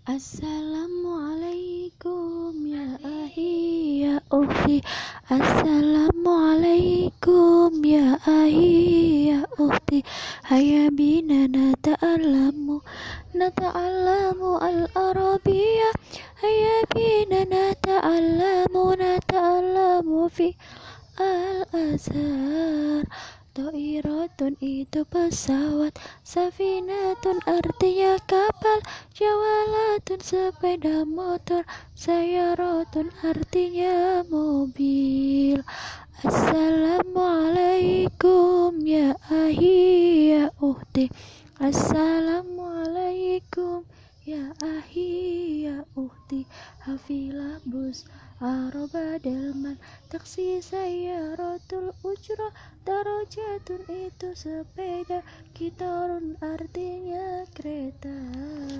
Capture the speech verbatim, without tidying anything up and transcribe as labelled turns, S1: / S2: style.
S1: Assalamualaikum ya ahi ya ukhti. Assalamualaikum ya ahi ya ukhti. Hayya bina nata'allamu nata'allamu al-arabiyya. Hayya bina nata'allamu nata'allamu fi al-azhar. To'iratun itu pesawat, safinatun artinya kapal, jawalatun sepeda motor, sayaratun artinya mobil. Assalamualaikum ya ahi ya ukhti. Assalamualaikum ya ahi ya ukhti. Hafilah bus Aroba delman, taksi sayaratul ujra, darajatun itu sepeda, kitarun artinya kereta.